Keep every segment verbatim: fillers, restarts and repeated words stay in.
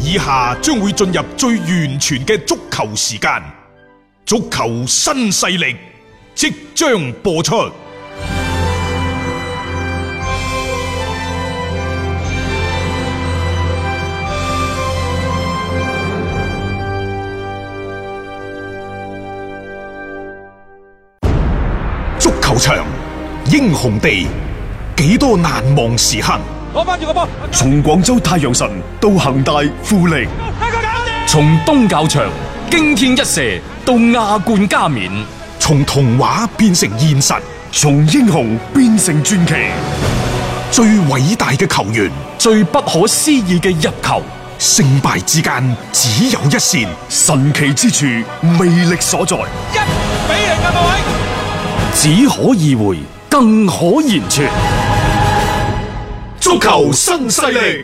以下將會進入最完全嘅足球時間，足球新勢力即將播出。足球場，英雄地，幾多難忘時刻。 攞翻住個波， 從廣州太陽神到恒大富力， 從東較場驚天一射到亞冠加冕， 從童話變成現實， 從英雄變成傳奇。 最偉大嘅球員， 最不可思議嘅入球， 勝敗之間只有一線， 神奇之處魅力所在。 一比零啊，各位！ 只可意會，更可言傳。 足球新勢力，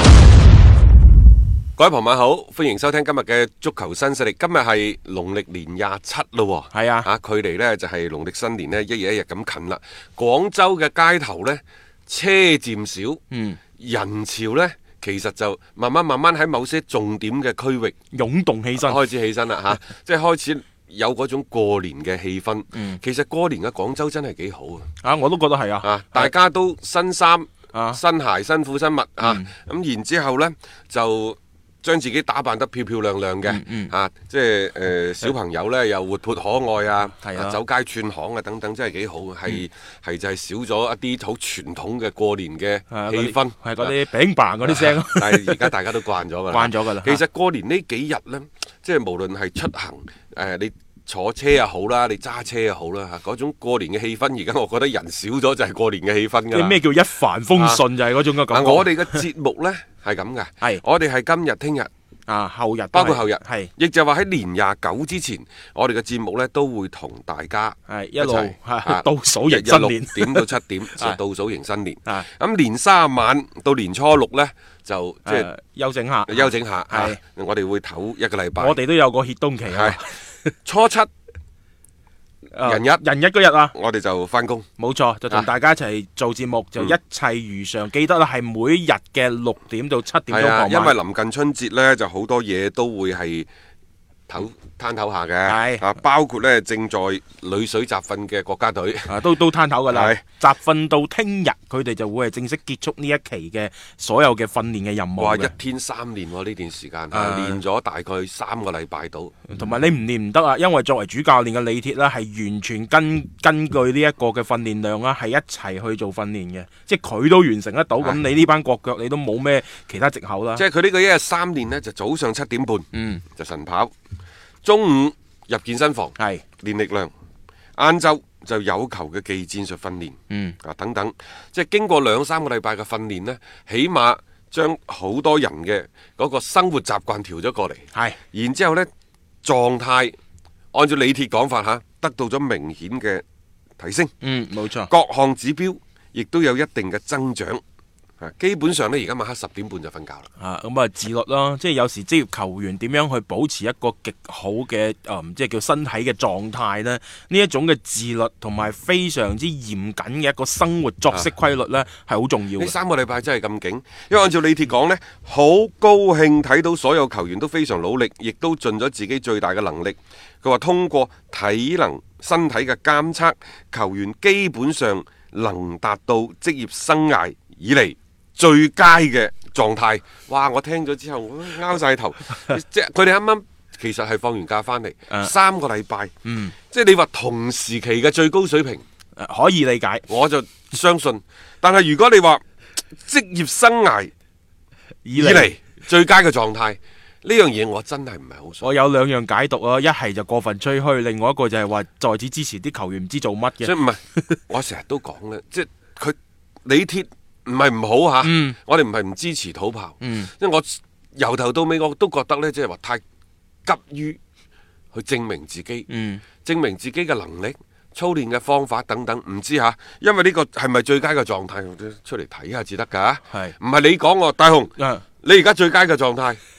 各位朋友好，歡迎收聽今日嘅足球新勢力。今日係農曆年廿七咯， 係啊， 吓距離呢就係農曆新年呢一日一日咁近啦。廣州嘅街頭呢，車漸少，嗯，人潮呢其實就慢慢慢慢喺某些重點嘅區域湧動起身， 開始起身啦吓，即係開始有嗰種過年嘅氣氛。嗯，其實過年嘅廣州真係幾好啊！ 啊，我都覺得係啊， 啊，大家都新衫。 啊、 新鞋、新褲、新襪啊！咁、嗯、然之後呢，就將自己打扮得漂漂亮亮嘅，嗯嗯、啊，即係誒、呃、小朋友呢，又活潑可愛啊，啊走街串巷啊等等，真係幾好。係係、嗯、就係少咗一啲好傳統嘅過年嘅氣氛， 係嗰啲餅棒嗰啲聲。 但係而家大家都慣咗㗎啦， 慣咗㗎啦。 其實過年呢幾日呢，即係無論係出行誒、呃、你。坐車又好啦，你揸車又好啦，嚇嗰種過年嘅氣氛，而家我覺得人少咗就係過年嘅氣氛㗎啦。 咩叫一帆風順、啊、就係嗰種嘅感覺。 我哋嘅節目呢係咁嘅，係我哋係今日、聽日啊、後日， 包括後日， 係亦就話喺年廿九之前，我哋嘅節目呢都會同大家係一路倒數迎新年， 點到七點就倒數迎新年。咁年卅晚到年初六呢，就即係、呃、 休整下， 休整下。 係、 啊、我哋會唞一個禮拜。 我哋都有個歇冬期啊。 初七人日、 呃、人日嗰日啊， 我哋就翻工， 冇錯，就同大家一齊做節目，啊、就一切如常。嗯、記得啦，係每日嘅六點到七點鐘。 啊，因為臨近春節呢，就好多嘢都會係唞攤唞下嘅，啊，包括呢正在裏水集訓嘅國家隊， 啊，都都攤唞噶啦，集訓到聽日，佢哋就會係正式結束呢一期嘅所有嘅訓練嘅任務。 哇，一天三練喎，呢段時間，啊、練咗大概三個禮拜到。 同埋、嗯、你唔練唔得啊，因為作為主教練嘅李鐵呢，係完全根根據呢一個嘅訓練量啦，係一齊去做訓練嘅，即係佢都完成得到，咁、啊、你呢班國腳你都冇咩其他藉口啦。 即係佢呢個一日三練呢，就早上七點半，嗯，就晨跑。中午入健身房係練力量，晏晝就有球嘅技戰術訓練，嗯啊等等，即係經過兩三個禮拜嘅訓練呢，起碼將好多人嘅嗰個生活習慣調咗過嚟，係，然之後呢狀態按照李鐵講法吓，得到咗明顯嘅提升， 嗯冇錯， 各項指標亦都有一定嘅增長。基本上呢，而家晚黑十點半就瞓覺啦。 啊，咁啊自律咯，即係有時職業球員點樣去保持一個極好嘅誒、嗯，即係叫身體嘅狀態呢？呢一種嘅自律同埋非常之嚴謹嘅一個生活作息規律呢，係好、啊、重要。呢三個禮拜真係咁勁，因為按照李鐵講呢，好高興睇到所有球員都非常努力，亦都盡咗自己最大嘅能力。佢話通過體能、身體嘅監測，球員基本上能達到職業生涯以嚟最佳嘅狀態。哇！我聽咗之後，我拗晒頭。即係佢哋啱啱其實係放完假翻嚟，啊、三個禮拜，嗯，即係你話同時期嘅最高水平， 啊、可以理解， 我就相信。但係如果你話職業生涯以嚟最佳嘅狀態，呢樣嘢我真係唔係好信。 我有兩樣解讀啊，一係就過分吹噓，另外一個就係話在此之前啲球員唔知做乜嘅。 所以唔係，我成日都講咧，即係佢李鐵。唔係唔好嚇，嗯、我哋唔係唔支持土炮，嗯、因為我由頭到尾我都覺得呢，即係話太急於去證明自己，嗯、證明自己嘅能力、操練嘅方法等等，唔知嚇，因為呢個係咪最佳嘅狀態，出嚟睇下至得㗎，唔係是你講我大雄，嗯、你而家最佳嘅狀態。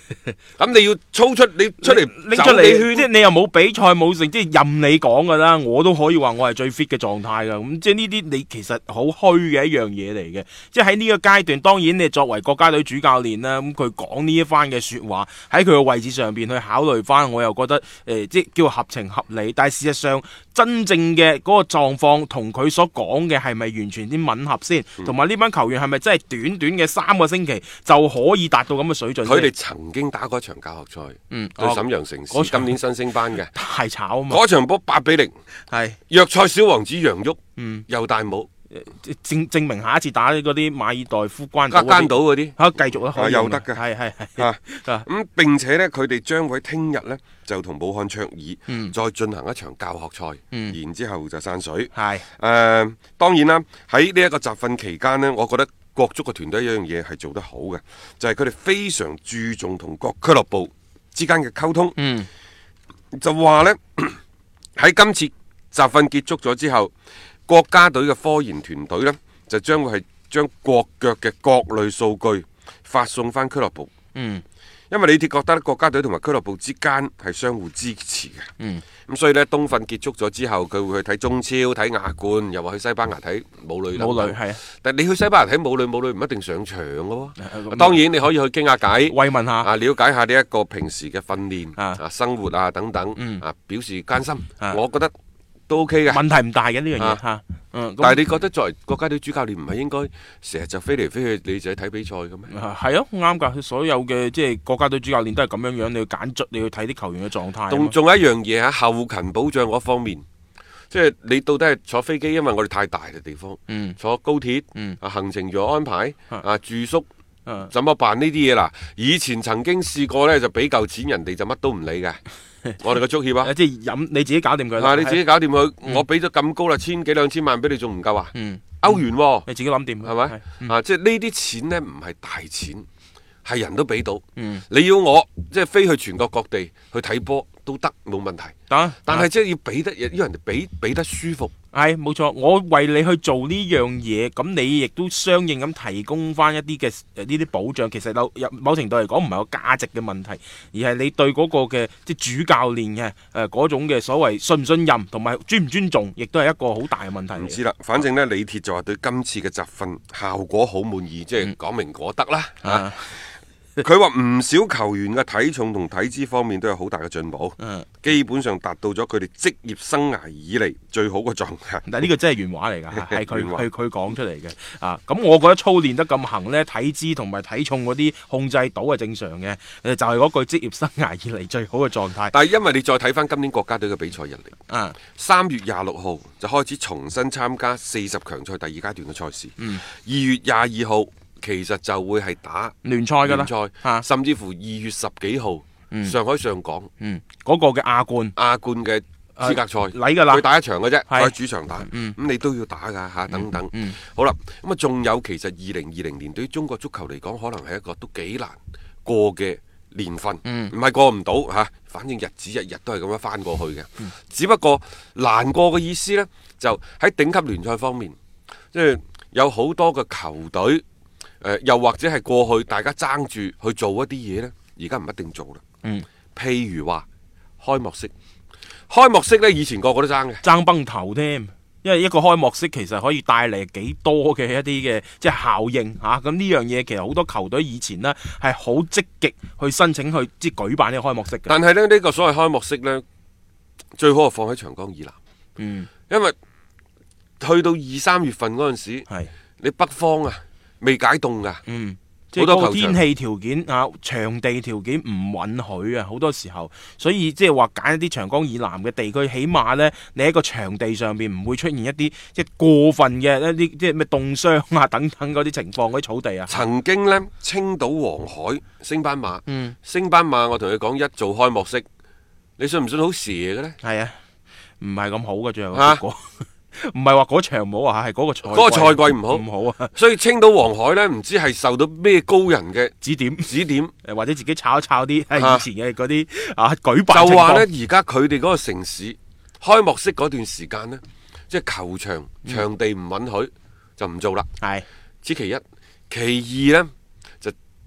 咁你要操出你出嚟拎出嚟， 走你圈即係你又冇比賽冇成，即係任你講噶啦，我都可以話我係最 fit 嘅狀態噶。咁即係呢啲你其實好虛嘅一樣嘢嚟嘅。即係喺呢個階段，當然你作為國家隊主教練啦，咁佢講呢一番嘅說話喺佢嘅位置上邊去考慮翻，我又覺得誒、呃，即係叫合情合理。但係事實上真正嘅嗰個狀況同佢所講嘅係咪完全啲吻合先？同埋呢班球員係咪真係短短嘅三個星期就可以達到咁嘅水準？ 佢哋曾經打過一場教學賽， 嗯， 對瀋陽城市， 哦、 今年新升班嘅， 太炒啊嘛！ 嗰場波八比零， 係弱賽小王子楊旭， 嗯， 又戴帽， 證證明下一次打嗰啲馬爾代夫關加間島嗰啲， 嚇繼續啦， 啊又得嘅， 係係係啊咁並且呢，佢哋將會聽日呢，就同武漢卓爾、嗯、再進行一場教學賽，嗯、然之後就散水。 係誒、 呃，當然啦，喺呢一個集訓期間呢，我覺得國足嘅團隊有一樣嘢係做得好嘅，就係佢哋非常注重同各俱樂部之間嘅溝通。嗯，就話呢，喺今次集訓結束咗之後，國家隊嘅科研團隊呢，就將會係將國腳嘅各類數據發送翻俱樂部。嗯。因為李鐵覺得國家隊同埋俱樂部之間係相互支持嘅，咁、嗯、所以呢，冬訓結束咗之後，佢會去睇中超、睇亞冠，又話去西班牙睇武磊。武磊係啊，但係你去西班牙睇武磊，武磊唔一定上場嘅喎。嗯、當然你可以去傾下偈，慰問下，啊，了解下呢一個平時嘅訓練啊、啊生活啊等等，嗯、啊表示關心。啊、我覺得都 OK 嘅，問題唔大嘅呢樣嘢嚇。嗯、但係你覺得作為國家隊主教練唔係應該成日就飛嚟飛去，你就去睇比賽嘅咩？係啊，啱㗎。所有嘅即係國家隊主教練都係咁樣樣，你要揀卒，你要睇啲球員嘅狀態。仲仲有一樣嘢喺後勤保障嗰方面，即係你到底係坐飛機，因為我哋太大嘅地方，嗯、坐高鐵，啊、嗯、行程如何安排，啊、啊住宿。怎麼辦呢啲嘢啦？以前曾經試過呢，就俾夠錢人哋就乜都唔理嘅。我哋個足協啊，即係飲你自己搞掂佢啦。你自己搞掂佢，嗯、我俾咗咁高啦，千幾兩千萬俾你，仲唔夠啊？嗯、歐元、啊，你自己諗掂係咪？嗯、啊，即係呢啲錢呢，唔係大錢，係人都俾到。嗯、你要我即係飛去全國各地去睇波都得，冇問題。啊、但係即係要俾得，要人哋俾俾得舒服。係冇錯，我為你去做呢樣嘢，咁你亦都相應咁提供翻一啲嘅呢啲保障。其實有某程度嚟講唔係個價值嘅問題，而係你對嗰個嘅即係主教練嘅誒嗰種嘅所謂信唔信任同埋尊唔尊重，亦都係一個好大嘅問題。唔知啦，反正呢，李鐵就話對今次嘅集訓效果好滿意，即係講明果得啦嚇。嗯啊佢話唔少球員嘅體重同體脂方面都有好大嘅進步，嗯、基本上達到咗佢哋職業生涯以嚟最好嘅狀態。但係呢個真係原話嚟㗎，係佢佢佢講出嚟嘅啊。咁我覺得操練得咁行呢，體脂同埋體重嗰啲控制到係正常嘅，就係、是、嗰句職業生涯以嚟最好嘅狀態。但係因為你再睇翻今年國家隊嘅比賽日曆，三、嗯、月廿六號就開始重新參加四十強賽第二階段嘅賽事，二、嗯、月廿二號。其實就會係打聯賽㗎啦，聯賽甚至乎二月十幾號上海上港嗰、嗯嗰個嘅亞冠亞冠嘅資格賽嚟㗎啦，佢打一場嘅啫，喺主場打，咁、嗯、你都要打㗎嚇，等等。嗯嗯、好啦，咁啊仲有其實二零二零年對於中國足球嚟講，可能係一個都幾難過嘅年份，唔係、嗯、過唔到嚇，反正日子日日都係咁樣翻過去嘅。嗯、只不過難過嘅意思呢，就喺頂級聯賽方面，即係有好多嘅球隊。呃、又或者係過去大家爭住去做一啲嘢呢，而家唔一定做啦。嗯，譬如話開幕式，開幕式呢，以前個個都爭嘅，爭崩頭添。因為一個開幕式其實可以帶嚟幾多嘅一啲嘅即係效應嚇。咁、啊、呢樣嘢其實好多球隊以前呢係好積極去申請去即係舉辦呢個開幕式嘅。但係咧呢、呢個所謂開幕式呢，最好係放喺長江以南。嗯，因為去到二三月份嗰陣時，係你北方啊。未解凍噶，嗯，即係嗰個天氣條件啊，場地條件唔允許啊，好多時候，所以即係話揀一啲長江以南嘅地區，起碼呢，你喺個場地上邊唔會出現一啲即係過分嘅一啲即係咩凍傷啊等等嗰啲情況，嗰啲草地啊。曾經呢，青島黃海升班馬，嗯，升班馬，我同你講一做開幕式，你信唔信好蛇嘅呢？係啊，唔係咁好嘅最後結果。唔係話嗰場唔好啊，係嗰個賽嗰個賽季唔好唔好啊，所以青島黃海呢，唔知係受到咩高人嘅指點指點，誒或者自己炒一炒啲係以前嘅嗰啲啊舉辦就話呢，而家佢哋嗰個城市開幕式嗰段時間呢，即係球場場地唔允許、嗯、就唔做啦。係此其一，其二呢，就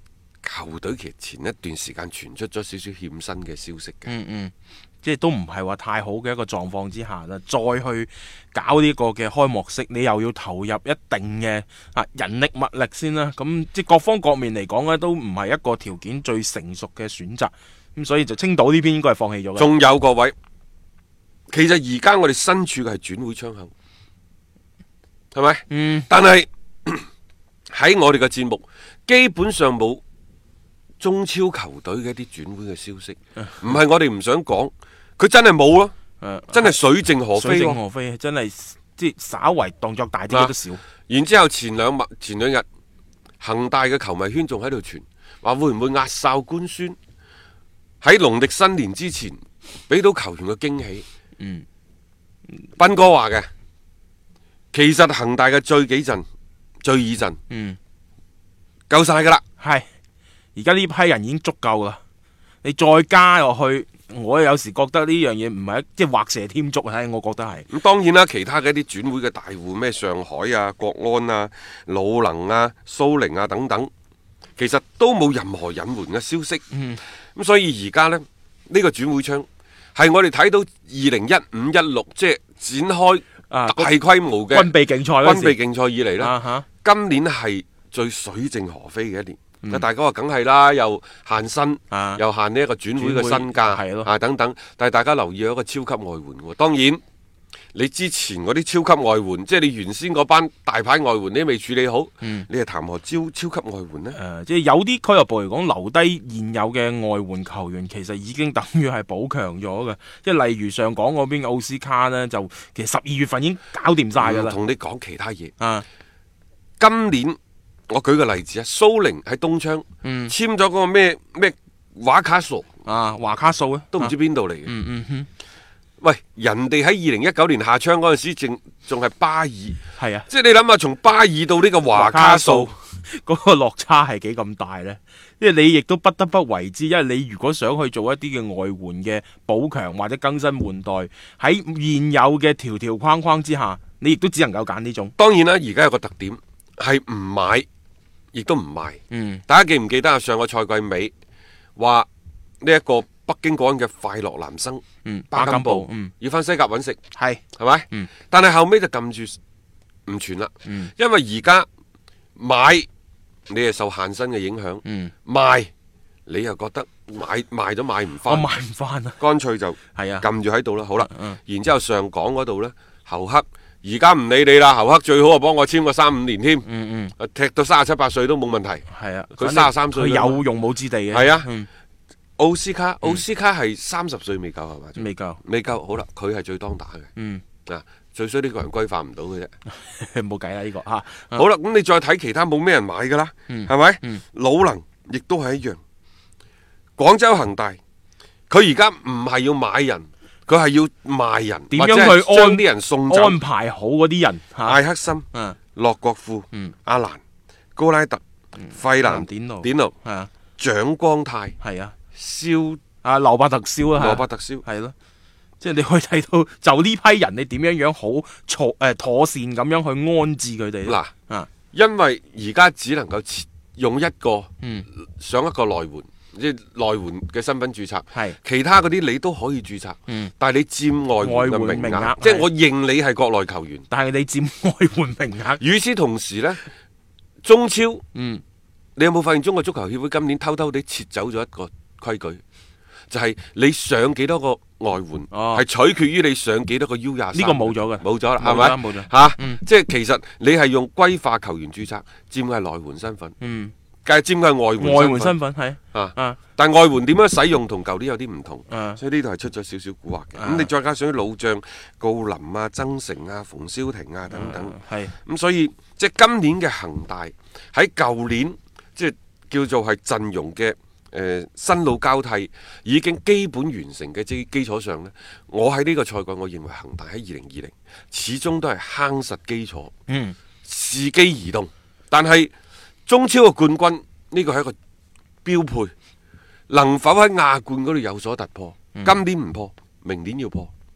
球隊其實前一段時間傳出咗少少欠薪嘅消息嘅。 嗯嗯，即係都唔係話太好嘅一個狀況之下啦，再去搞呢個嘅開幕式，你又要投入一定嘅啊人力物力先啦。咁即係各方各面嚟講呢，都唔係一個條件最成熟嘅選擇。咁所以就青島呢邊應該係放棄咗嘅。 仲有各位，其實而家我哋身處嘅係轉會窗口，係咪？ 嗯。 但係喺我哋嘅節目，基本上冇中超球隊嘅一啲轉會嘅消息，唔係我哋唔想講，佢真係冇咯， 誒真係水靜河飛水靜咯。 河飛，真係即係稍為動作大啲嘅都少。 然之後前兩日前兩日，恒大嘅球迷圈仲喺度傳，話會唔會壓哨官宣喺農曆新年之前俾到球員嘅驚喜？ 嗯， 斌哥話嘅，其實恒大嘅最幾陣、最二陣， 嗯， 夠晒噶啦。 係，而家呢批人已經足夠啦。你再加落去，我有時覺得呢樣嘢唔係即係畫蛇添足啊！我覺得係。 咁當然啦，其他嘅一啲轉會嘅大戶，咩上海啊、國安啊、魯能啊、蘇寧啊等等，其實都冇任何隱瞞嘅消息。 嗯， 咁所以而家呢，呢、呢個轉會窗係我哋睇到二零一五一六即係展開啊大規模嘅軍備競賽嗰時軍備競賽以嚟呢， 啊哈今年係最水靜河飛嘅一年。 嗯大家話梗係啦，又限薪， 啊又限呢一個轉會嘅身價， 係咯啊等等。但係大家留意有一個超級外援喎。當然，你之前嗰啲超級外援，即係你原先嗰班大牌外援，你都未處理好， 嗯你係談何超超級外援呢？ 誒、呃，即係有啲俱樂部嚟講，留低現有嘅外援球員，其實已經等於係補強咗嘅。即係例如上港嗰邊嘅奧斯卡呢，就其實十二月份已經搞掂晒㗎啦。 同你講其他嘢。 啊， 今年我舉個例子啊，蘇寧喺東窗、 嗯簽咗嗰個咩咩華卡索， 啊，華卡素咧， 都唔知邊度嚟嘅。 嗯嗯哼， 喂，人哋喺二零一九年夏窗嗰陣時，仲仲係巴爾，即係啊， 係你諗下，從巴爾到呢個華卡素。 嗰個落差係幾咁大呢？因為你亦都不得不為之，因為你如果想去做一啲嘅外援嘅補強或者更新換代，喺現有嘅條條框框之下，你亦都只能夠揀呢種。 當然啦，而家有個特點係唔買，亦都唔賣。 嗯， 大家記唔記得啊？上個賽季尾話呢一個北京國安嘅快樂男生， 嗯， 巴金布， 嗯， 要翻西甲揾食， 係係咪？ 嗯， 但係後尾就撳住唔傳啦。 嗯， 因為而家買你係受限薪嘅影響， 嗯， 賣你又覺得買賣咗買唔我翻， 買唔翻啊。 乾脆就係啊， 撳住喺度啦。好啦， 嗯然之後上港嗰度呢，侯克而家唔理你啦，侯克最好啊幫我簽個三五年添， 嗯嗯， 踢到三十七八歲都冇問題。 係啊， 佢三十三歲佢啦嘛有用武之地嘅。 係啊嗯， 奧斯卡，奧斯卡係三十歲未夠係嘛？ 未夠。 未夠，好啦，佢係最當打嘅。 嗯， 啊，最衰呢個人規範唔到嘅啫。 冇計啦呢個嚇。 好啦，咁你再睇其他冇咩人買噶啦， 嗯係咪？ 嗯魯能亦都係一樣。廣州恒大，佢而家唔係要買人，佢係要賣人， 點或者樣去安係將啲人送走。 安排好嗰啲人嚇。 艾克森、 嗯洛國富、 嗯阿蘭、高拉特、費蘭、 典奴典奴、 係啊蔣光泰、 係啊。 肖啊，羅伯特蕭啊， 羅伯特蕭。 係咯，即係你可以睇到，就呢批人，你點樣樣好妥誒妥善咁樣去安置佢哋嗱啊， 因為而家只能夠切用一個嗯， 上一個內援，即係內援嘅身份註冊， 係其他嗰啲你都可以註冊， 嗯但係你佔外援嘅名額， 外援名額即係我認你係國內球員。 但係你佔外援名額， 與此同時呢，中超， 嗯， 你有冇發現中國足球協會今年偷偷地撤走咗一個規矩，就係、你上幾多個外援，係、 哦取決於你上幾多個 U 廿三。 呢個冇咗嘅冇咗啦， 冇咗係咪？ 冇咗嚇， 嗯即係其實你係用歸化球員註冊，佔嘅係內援身份， 嗯， 梗係佔嘅係外援外援身份。 身份係啊啊但外援點樣使用同舊年有啲唔同， 啊所以呢度係出咗少少蠱惑嘅。咁、 啊你再加上啲老將郜林啊、曾誠啊、馮瀟霆啊等等， 係咁、所以即係今年嘅恒大喺舊年即係叫做係陣容嘅誒、呃、新老交替已經基本完成嘅基基礎上呢，我喺呢個賽季我認為恒大喺二零二零始終都係夯實基礎， 嗯伺機而動。但係中超嘅冠軍呢個係一個標配，能否喺亞冠嗰度有所突破？ 嗯今年唔破，明年要破。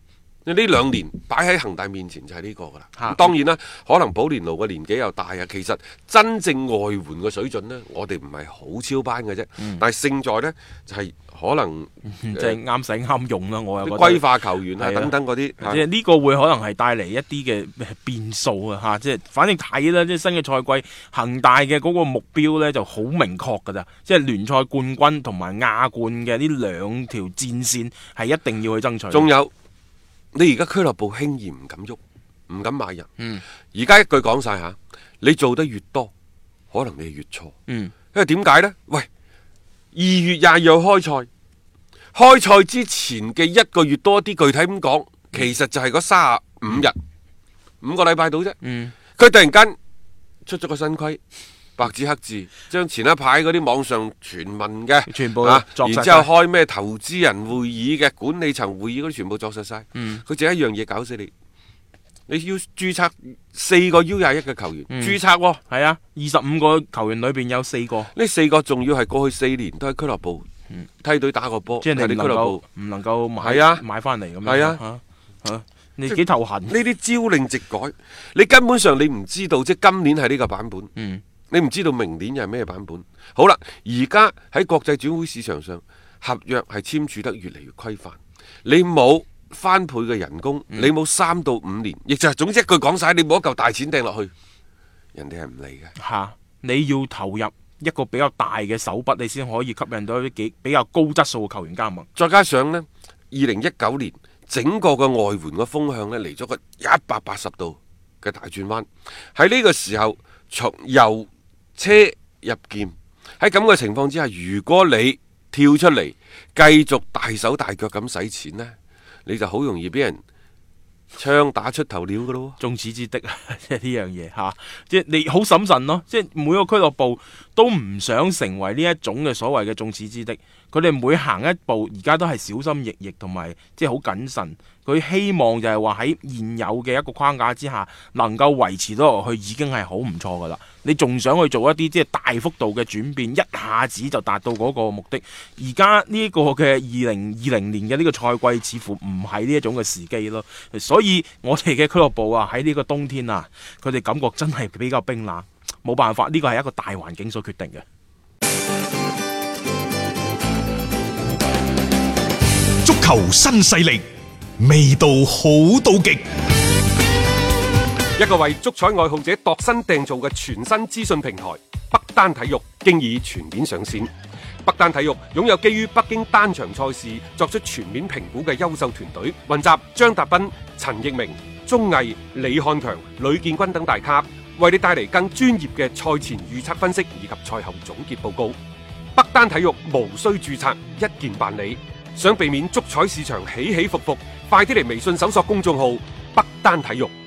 呢兩年擺喺恒大面前就係呢個噶啦。 啊、 當然啦，可能保連奴嘅年紀又大啊。其實真正外援嘅水準呢，我哋唔係好超班嘅啫。嗯、但係勝在呢，就係、是、可能即係啱使啱用啦。我又覺得歸化球員啊的等等嗰啲， 即係呢個會可能係帶嚟一啲嘅變數啊嚇。即係反正睇啦，即係新嘅賽季恒大嘅嗰個目標呢就好明確㗎咋。即係聯賽冠軍同埋亞冠嘅呢兩條戰線係一定要去爭取。 仲有。你而家俱樂部輕易唔敢喐，唔敢買人。 嗯， 而家一句講晒吓，你做得越多，可能你越錯。 嗯， 因為點解呢？喂，二月廿二號開賽，開賽之前嘅一個月多啲，具體咁講，其實就係嗰三十五日，嗯、五個禮拜到啫。嗯，佢突然間出咗個新規。白紙黑字，將前一排嗰啲網上傳聞嘅全部啊， 然之後開咩投資人會議嘅管理層會議嗰啲全部作實晒。嗯，佢淨係一樣嘢搞死你，你要註冊四個 U 廿一嘅球員，嗯、註冊喎。 係啊，二十五個球員裏邊有四個， 呢四個仲要係過去四年都喺俱樂部、嗯、梯隊打過波， 即係你唔能夠唔能夠買係啊買翻嚟咁樣。係啊，嚇嚇、啊，你幾頭痕？呢啲朝令夕改，你根本上你唔知道，即係今年係呢個版本。嗯。你唔知道明年又係咩版本？好啦，而家喺國際轉會市場上，合約係簽署得越嚟越規範。你冇翻倍嘅人工，嗯、你冇三到五年，亦就係總之一句講晒，你冇一嚿大錢掟落去，人哋係唔嚟嘅。 吓，你要投入一個比較大嘅手筆，你先可以吸引到一啲幾比較高質素嘅球員加盟。 再加上呢，二零一九年整個嘅外援嘅風向呢，嚟咗個一百八十度嘅大轉彎。喺呢個時候，從由車入劍，喺咁嘅情況之下，如果你跳出嚟繼續大手大腳咁使錢呢，你就好容易俾人槍打出頭鳥噶咯。 眾矢之的啊，即係呢樣嘢吓，即係你好審慎咯。即係每個俱樂部都唔想成為呢一種嘅所謂嘅眾矢之的，佢哋每行一步而家都係小心翼翼同埋即係好謹慎。佢希望就係話喺現有嘅一個框架之下，能夠維持到落去，已經係好唔錯噶啦。你仲想去做一啲即係大幅度嘅轉變，一下子就達到嗰個目的？而家呢個嘅二零二零年嘅呢個賽季，似乎唔係呢一種嘅時機咯。所以我哋嘅俱樂部啊，喺呢個冬天啊，佢哋感覺真係比較冰冷。冇辦法，呢個係一個大環境所決定嘅。 足球新勢力，味道好到極。 一個為足彩愛好者度身訂造嘅全新資訊平台北單體育，經已全面上線。北單體育擁有基於北京單場賽事作出全面評估嘅優秀團隊，雲集張達斌、陳奕明、鐘毅、李漢強、呂建軍等大咖，為你帶嚟更專業嘅賽前預測分析以及賽後總結報告。北單體育無需註冊，一鍵辦理。想避免足彩市場起起伏伏，快啲嚟微信搜索公眾號北單體育。